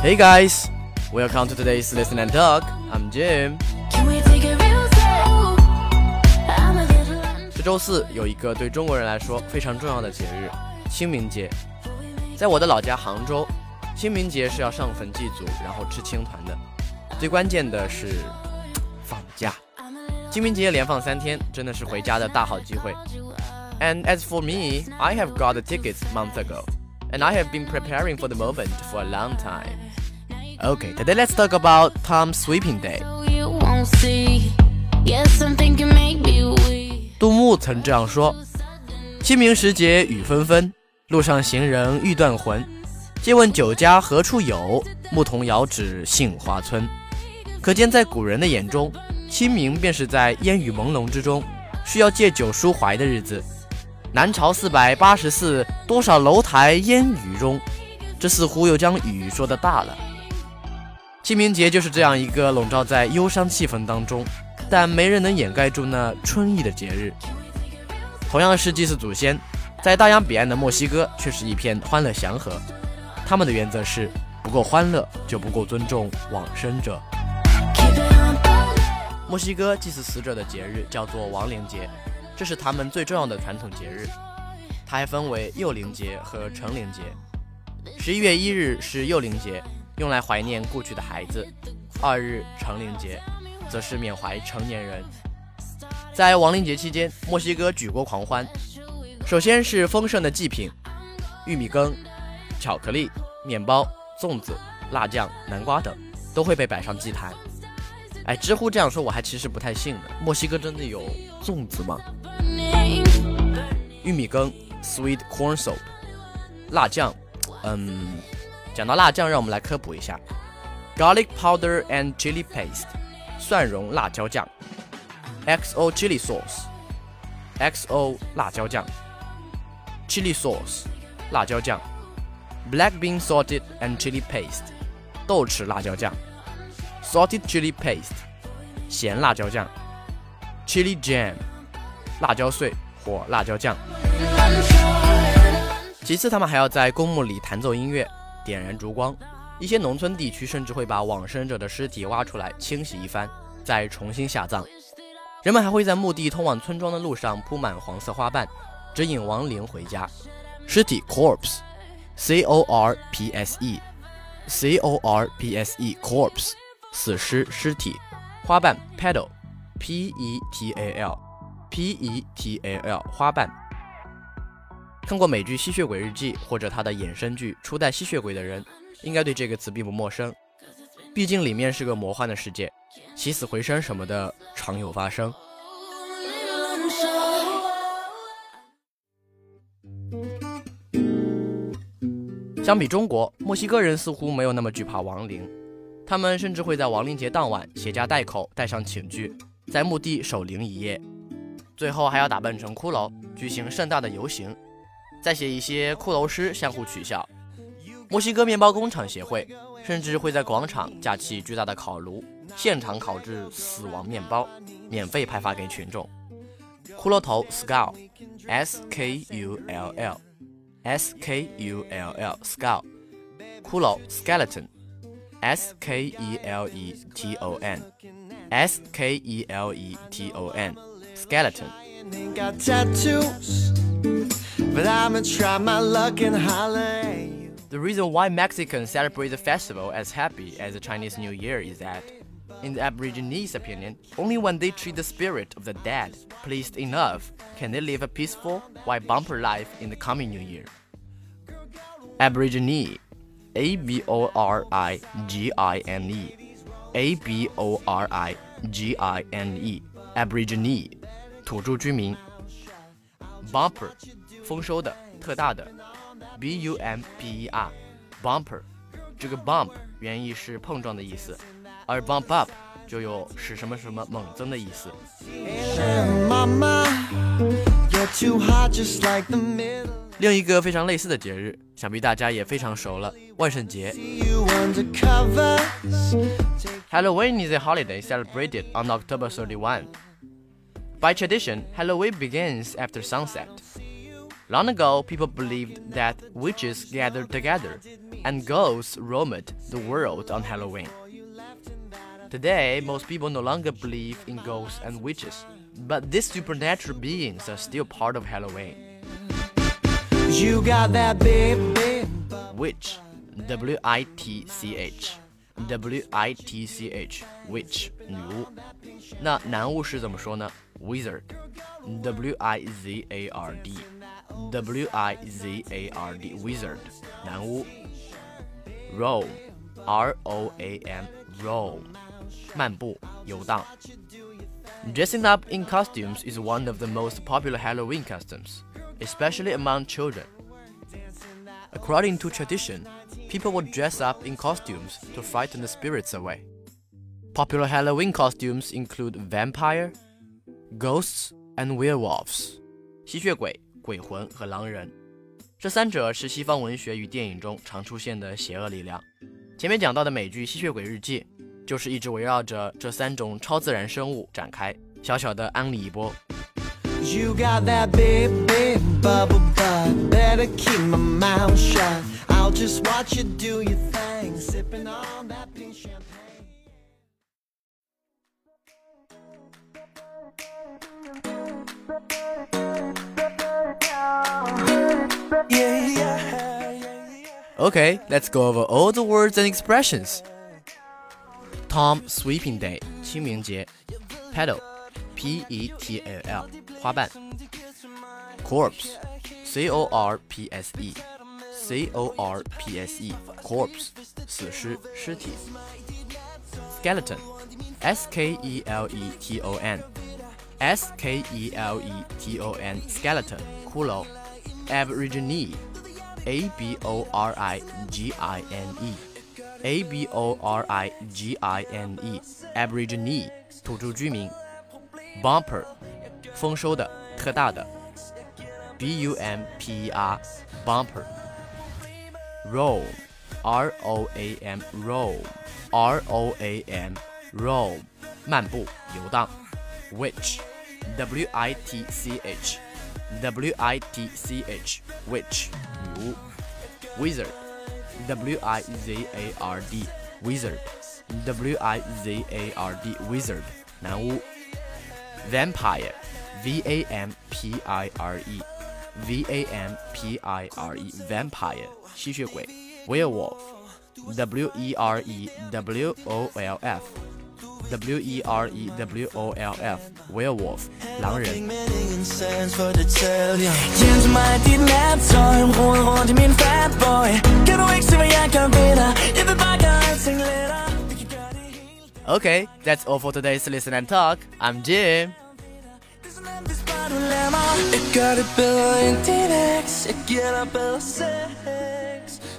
Hey guys, welcome to today's Listen and Talk. I'm Jim. 这周四有一个对中国人来说非常重要的节日——清明节。在我的老家杭州，清明节是要上坟祭祖，然后吃青团的。最关键的是放假。清明节连放3天，真的是回家的大好机会。And as for me, I have got the tickets months ago, and I have been preparing for the moment for a long time. Okay, today let's talk about Tom Sweeping Day. 杜牧曾这样说：清明时节雨纷纷，路上行人欲断魂。借问酒家何处有？牧童遥指杏花村。可见在古人的眼中，清明便是在烟雨朦胧之中，需要借酒抒怀的日子。南朝484，多少楼台烟雨中。这似乎又将雨说得大了。清明节就是这样一个笼罩在忧伤气氛当中，但没人能掩盖住那春意的节日。同样是祭祀祖先，在大洋彼岸的墨西哥却是一片欢乐祥和。他们的原则是不够欢乐就不够尊重往生者。墨西哥祭祀死者的节日叫做亡灵节，这是他们最重要的传统节日。它还分为幼灵节和成灵节。11月1日是幼灵节，用来怀念故去的孩子；2日成灵节则是缅怀成年人。在亡灵节期间，墨西哥举国狂欢。首先是丰盛的祭品，玉米羹、巧克力、面包、粽子、辣酱、南瓜等都会被摆上祭坛。知乎这样说我还其实不太信呢。墨西哥真的有粽子吗？玉米羹 sweet corn soup， 辣酱讲到辣酱，让我们来科普一下 garlic powder and chili paste， 蒜蓉辣椒酱。 XO chili sauce， XO 辣椒酱。 chili sauce 辣椒酱。 black bean salted and chili paste， 豆豉辣椒酱。 salted chili paste 咸辣椒酱。 chili jam 辣椒碎或辣椒酱。其次他们还要在公墓里弹奏音乐，点燃烛光。一些农村地区甚至会把往生者的尸体挖出来清洗一番，再重新下葬。人们还会在墓地通往村庄的路上铺满黄色花瓣，指引亡灵回家。尸体 corpse corpse corpse corpse 死尸尸体。花瓣 petal petal petal 花瓣。看过美剧《吸血鬼日记》或者它的衍生剧《初代吸血鬼》的人，应该对这个词并不陌生。毕竟里面是个魔幻的世界，起死回生什么的常有发生。相比中国，墨西哥人似乎没有那么惧怕亡灵，他们甚至会在亡灵节当晚携家带口带上寝具，在墓地守灵一夜，最后还要打扮成骷髅，举行盛大的游行，再写一些骷髅诗相互取笑。墨西哥面包工厂协会甚至会在广场架起巨大的烤炉，现场烤制死亡面包，免费派发给群众。骷髅头 skull skull skull skull， 骷髅 skeleton skeleton skeleton skeleton。 The reason why Mexicans celebrate the festival as happy as the Chinese New Year is that, in the Aborigines' opinion, only when they treat the spirit of the dead pleased enough can they live a peaceful while bumper life in the coming New Year. Aborigine Aborigine Aborigine Aborigine 土著居民。 Bumper 丰收的特大的 bumper bumper 这个 bump 原意是碰撞的意思，而 bump up 就有使什么什么猛增的意思。另一个非常类似的节日，想必大家也非常熟了，万圣节。Halloween is a holiday celebrated on October 31. By tradition, Halloween begins after sunset. Long ago, people believed that witches gathered together and ghosts roamed the world on Halloween. Today, most people no longer believe in ghosts and witches, but these supernatural beings are still part of Halloween. You got that baby. Witch, W-I-T-C-H, W-I-T-C-H, witch 女巫。那男巫是怎么说呢？ Wizard, W-I-Z-A-R-D, W-I-Z-A-R-D, wizard 男巫。Roam, R-O-A-M, roam 漫步游荡。Dressing up in costumes is one of the most popular Halloween customs, especially among children. According to tradition, people would dress up in costumes to frighten the spirits away. Popular Halloween costumes include vampire, ghosts, and werewolves. 吸血鬼、鬼魂和狼人，这三者是西方文学与电影中常出现的邪恶力量。前面讲到的美剧《吸血鬼日记》就是一直围绕着这三种超自然生物展开。小小的安利一波。 You got that baby bubble butt. Better keep my mouth shut. I'll just watch you do your thing, sipping on that pink champagne. Okay, let's go over all the words and expressions. Tom Sweeping Day 清明节 Petal P-E-T-A-L 花瓣 Corpse C-O-R-P-S-E C-O-R-P-S-E Corpse 死尸尸体 Skeleton S-K-E-L-E-T-O-N S-K-E-L-E-T-O-N Skeleton 骷髅 Aborigine A-B-O-R-I-G-I-N-E A-B-O-R-I-G-I-N-E Aborigine 土著居民 Bumper 丰收的特大的 B-U-M-P-E-R Bumper Roam R-O-A-M Roam R-O-A-M Roam 漫步游荡 Witch W-I-T-C-H W-I-T-C-H Witch 女巫 Wizard W-I-Z-A-R-D Wizard W-I-Z-A-R-D Wizard 男巫 Vampire V-A-M-P-I-R-E V-A-M-P-I-R-E Vampire 吸血鬼 Werewolf W-E-R-E-W-O-L-F W-E-R-E-W-O-L-F Werewolf 狼人Okay, that's all for today's Listen and Talk. I'm Jim. Ik kan het wel in 10x, ik get up al 6